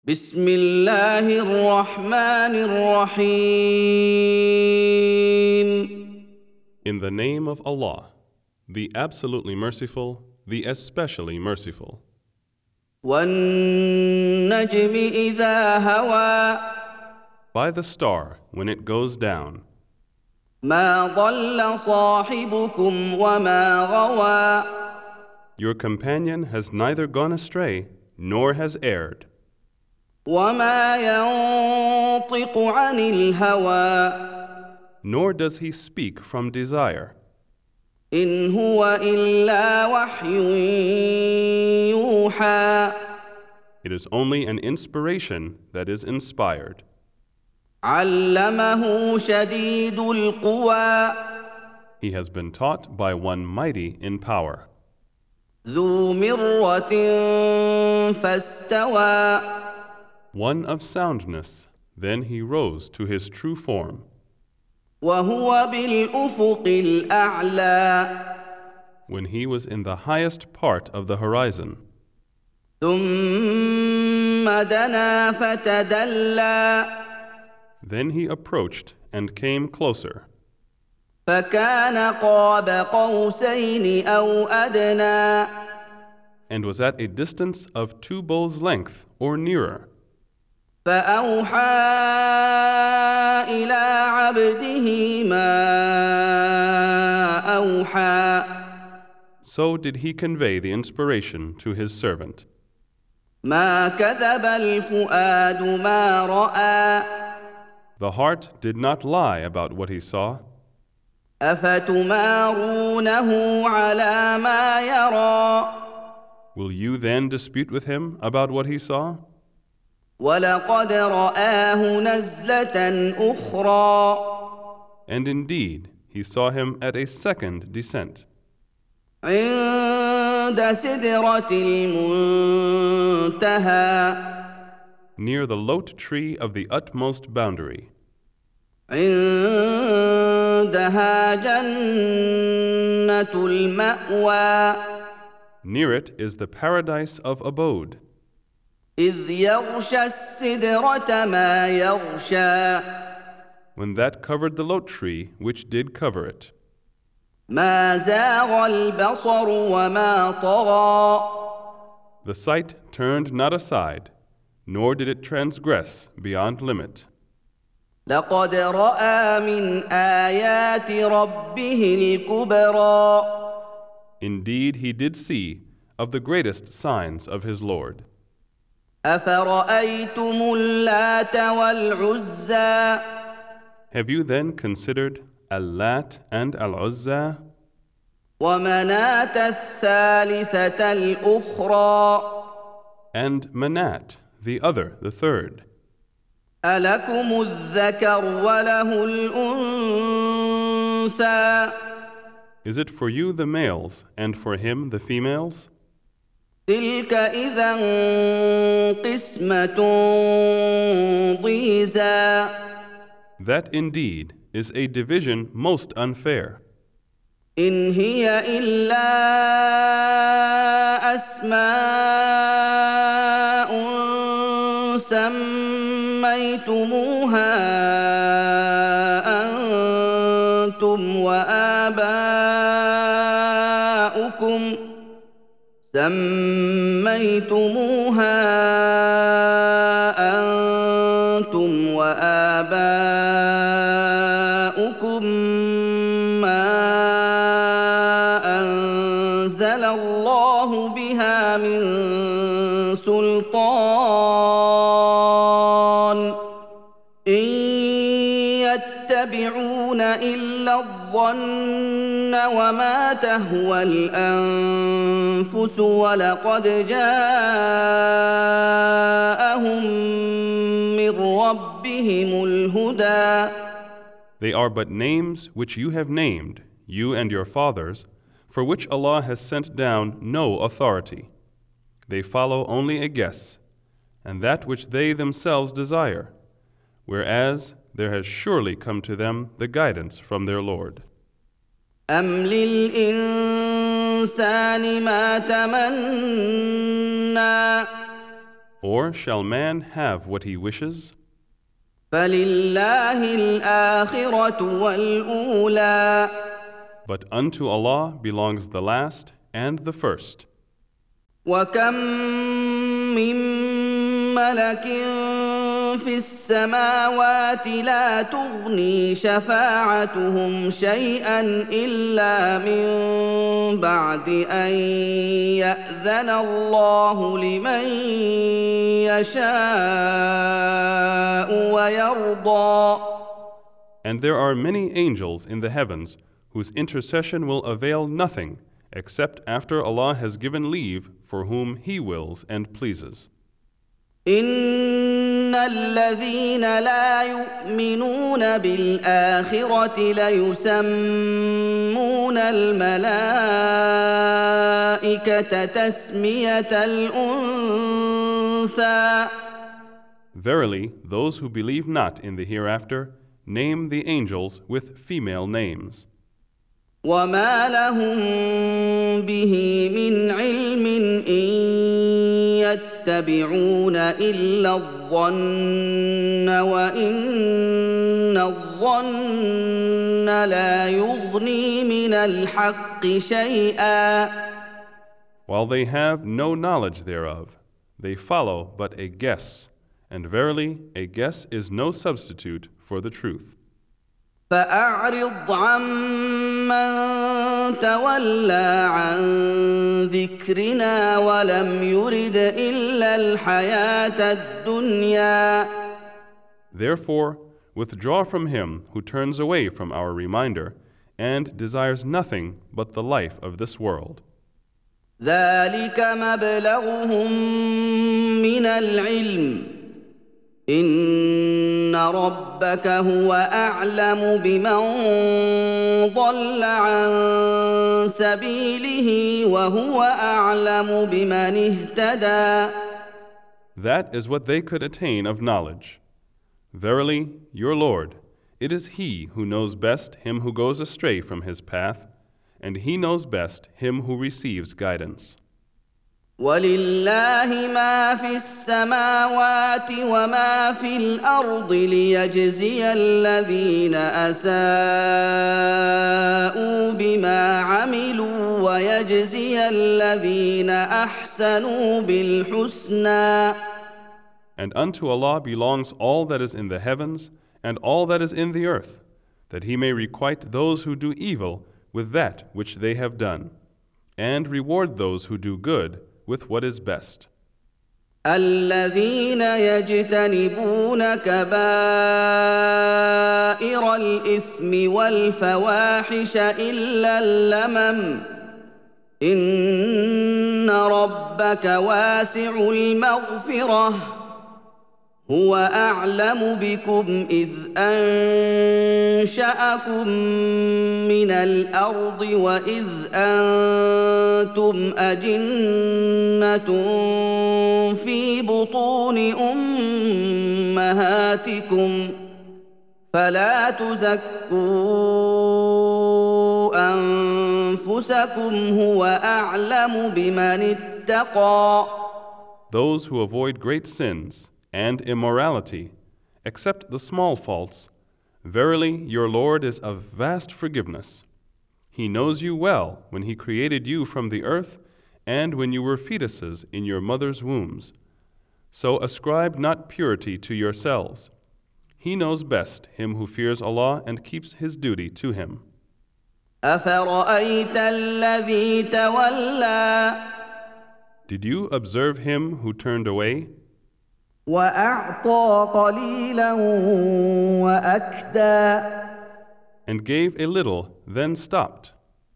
بسم الله الرحمن الرحيم. In the name of Allah, the absolutely merciful, the especially merciful. والنجم إذا هوى By the star when it goes down, ما ضل صاحبكم وما غوى your companion has neither gone astray nor has erred, وما ينطق عن الهوى nor does he speak from desire. إن هو إلا وحي يوحى It is only an inspiration that is inspired. علمه شديد القوى He has been taught by one mighty in power, ذو مرة فاستوى one of soundness. Then he rose to his true form. وهو بالأفق الأعلى When he was in the highest part of the horizon, ثم دنا فتدلى then he approached and came closer, فكان قاب قوسين أو أدنى and was at a distance of 2 bowls' length or nearer. فأوحى إلى عبده ما أوحى So did he convey the inspiration to his servant. ما كذب الفؤاد ما رأى The heart did not lie about what he saw. أفتمارونه على ما يرى Will you then dispute with him about what he saw? ولقد رآه نزلة أخرى And indeed, he saw him at a second descent, عند سدرة المنتهى near the lote tree of the utmost boundary. عندها جنة المأوى Near it is the paradise of abode, إذ يغشى السدرة ما يغشى when that covered the lote tree which did cover it. ما زاغ البصر وما طغى The sight turned not aside, nor did it transgress beyond limit. لقد رأى من آيات ربه الكبرى Indeed, he did see of the greatest signs of his Lord. أفرأيتم اللات والعزى Have you then considered Al-Lat and Al-Uzza ومناة الثالثة الأخرى and Manat, the other, the third? ألكم الذكر وله الأنثى Is it for you the males and for him the females? تلك إذا قسمة ضيزى That indeed is a division most unfair. إن هي إلا أسماء سميتموها أنتم وآباؤكم ما أنزل الله بها من سلطان إن يتبعون إلا الظن وما تهوى الأنفس ولقد جاءهم من ربهم الهدى They are but names which you have named, you and your fathers, for which Allah has sent down no authority. They follow only a guess, and that which they themselves desire, whereas there has surely come to them the guidance from their Lord. أم للإنسان ما تمنى Or shall man have what he wishes? فلله الآخرة والأولى But unto Allah belongs the last and the first. وكم من ملك في السماوات لا تغني شفاعتهم شيئا إلا من بعد أن يأذن الله لمن يشاء ويرضى. And there are many angels in the heavens whose intercession will avail nothing except after Allah has given leave for whom He wills and pleases. إن الذين لا يؤمنون بالآخرة ليسمون الملائكة تسمية الأنثى. Verily, those who believe not in the hereafter name the angels with female names. وما لهم به من علم إن يتبعون إلا الظن وإن الظن لا يغني من الحق شيئا. While they have no knowledge thereof, they follow but a guess, and verily a guess is no substitute for the truth. فأعرض عمن تولى عن ذكرنا ولم يرد إلا الحياة الدنيا. Therefore, withdraw from him who turns away from our reminder and desires nothing but the life of this world. ذلك مبلغهم من العلم إن ربك هو أعلم بمن ضل عن سبيله وهو أعلم بمن اهتدى. That is what they could attain of knowledge. Verily, your Lord, it is He who knows best him who goes astray from his path, and He knows best him who receives guidance. ولله ما في السماوات وما في الأرض ليجزي الذين أساءوا بما عملوا ويجزي الذين أحسنوا بالحسنى. And unto Allah belongs all that is in the heavens and all that is in the earth, that He may requite those who do evil with that which they have done, and reward those who do good with what is best. الذين يجتنبون كبائر الإثم والفواحش إلا اللمم إن ربك واسع المغفرة هو أعلم بكم إذ أنشأكم من الأرض وإذ أنتم أجنة في بطون أمهاتكم فلا تزكوا أنفسكم هو أعلم بمن اتقى. Those who avoid great sins and immorality, except the small faults, verily your Lord is of vast forgiveness. He knows you well when He created you from the earth and when you were fetuses in your mother's wombs. So ascribe not purity to yourselves. He knows best him who fears Allah and keeps his duty to Him. أفرأيت الذي تولى Did you observe him who turned away وأعطى قليلا وأكدى and gave a little, then stopped?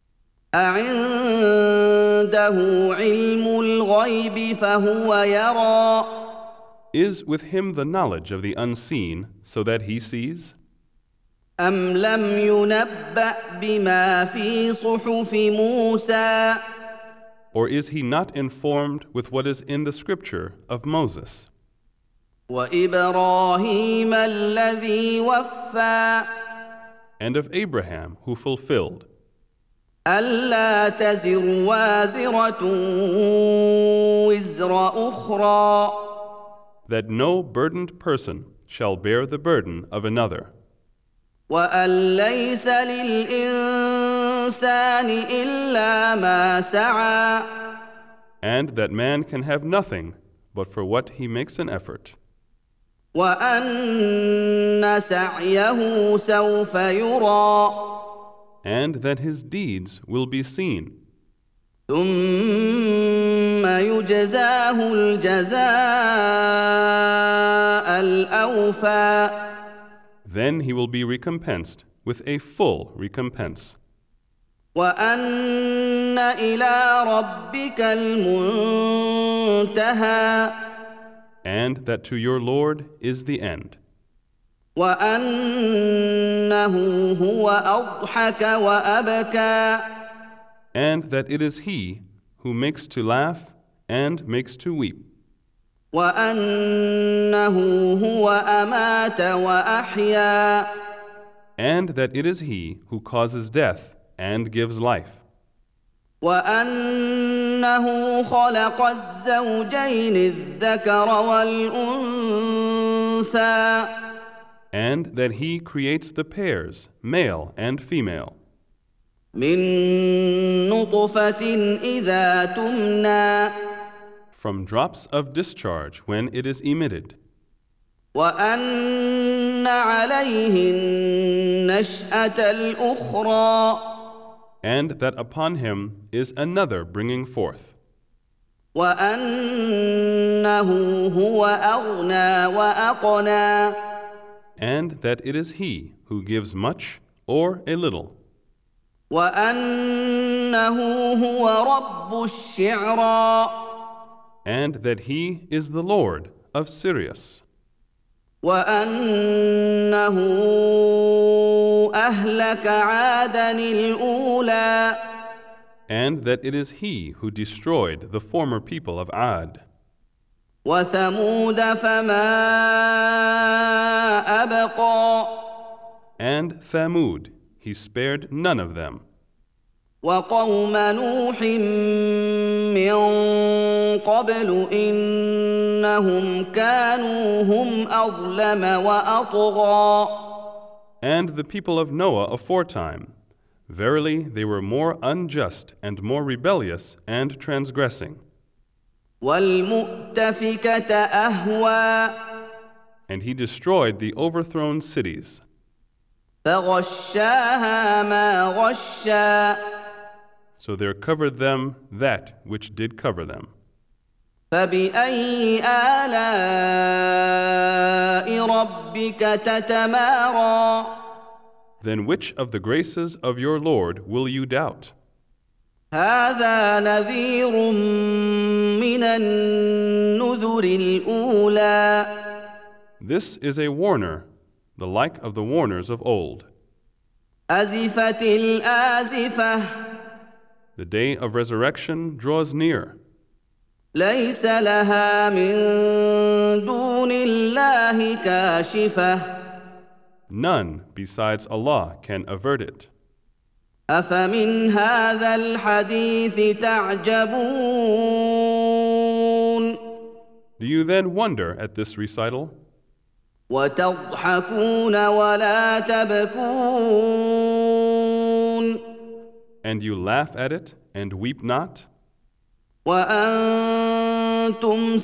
أعنده علم الغيب فهو يرى Is with him the knowledge of the unseen, so that he sees? أم لم ينبأ بما في صحف موسى Or is he not informed with what is in the scripture of Moses وإبراهيم الذي وفى and of Abraham who fulfilled? ألا تزر وازرة وزر أخرى that no burdened person shall bear the burden of another, وأن ليس للإنسان إلا ما سعى and that man can have nothing but for what he makes an effort, وأن سعيه سوف يرى and that his deeds will be seen, ثم يجزاه الجزاء الأوفى then he will be recompensed with a full recompense, وأن إلى ربك المنتهى and that to your Lord is the end, وأنه هو أضحك وأبكى and that it is he who makes to laugh and makes to weep, وأنه هو أمات وأحيا and that it is he who causes death and gives life, وأنه خلق الزوجين الذكر والأنثى and that he creates the pairs, male and female, من نطفة إذا تمنى from drops of discharge when it is emitted, وأن عليه النشأة الأخرى and that upon him is another bringing forth, وأنه هو أغنى وأقنى and that it is he who gives much or a little, وأنه هو رب الشعرى and that he is the Lord of Sirius, وأنه أهلك عادا الأولى and that it is he who destroyed the former people of Ad, وثمود فما أبقى and Thamud, he spared none of them, وقوم نوح من قبل إنهم كانوا هم أظلم وأطغى and the people of Noah aforetime. Verily, they were more unjust and more rebellious and transgressing. والمؤتفكة أهوى And he destroyed the overthrown cities, فغشاها ما غشا so there covered them that which did cover them. فبأي آلاء ربك تتمارى Then which of the graces of your Lord will you doubt? هذا نذير من النذر الأولى This is a warner, the like of the warners of old. أزفت الآزفة The day of resurrection draws near. ليس لها من دون الله كاشفة None besides Allah can avert it. أفمن هذا الحديث تعجبون Do you then wonder at this recital? وتضحكون ولا تبكون And you laugh at it and weep not? وأنتم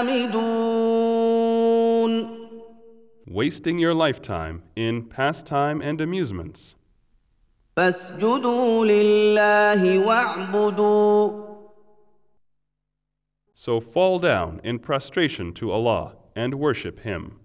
سامدون Wasting your lifetime in pastime and amusements. فاسجدوا لله واعبدوا So fall down in prostration to Allah and worship Him.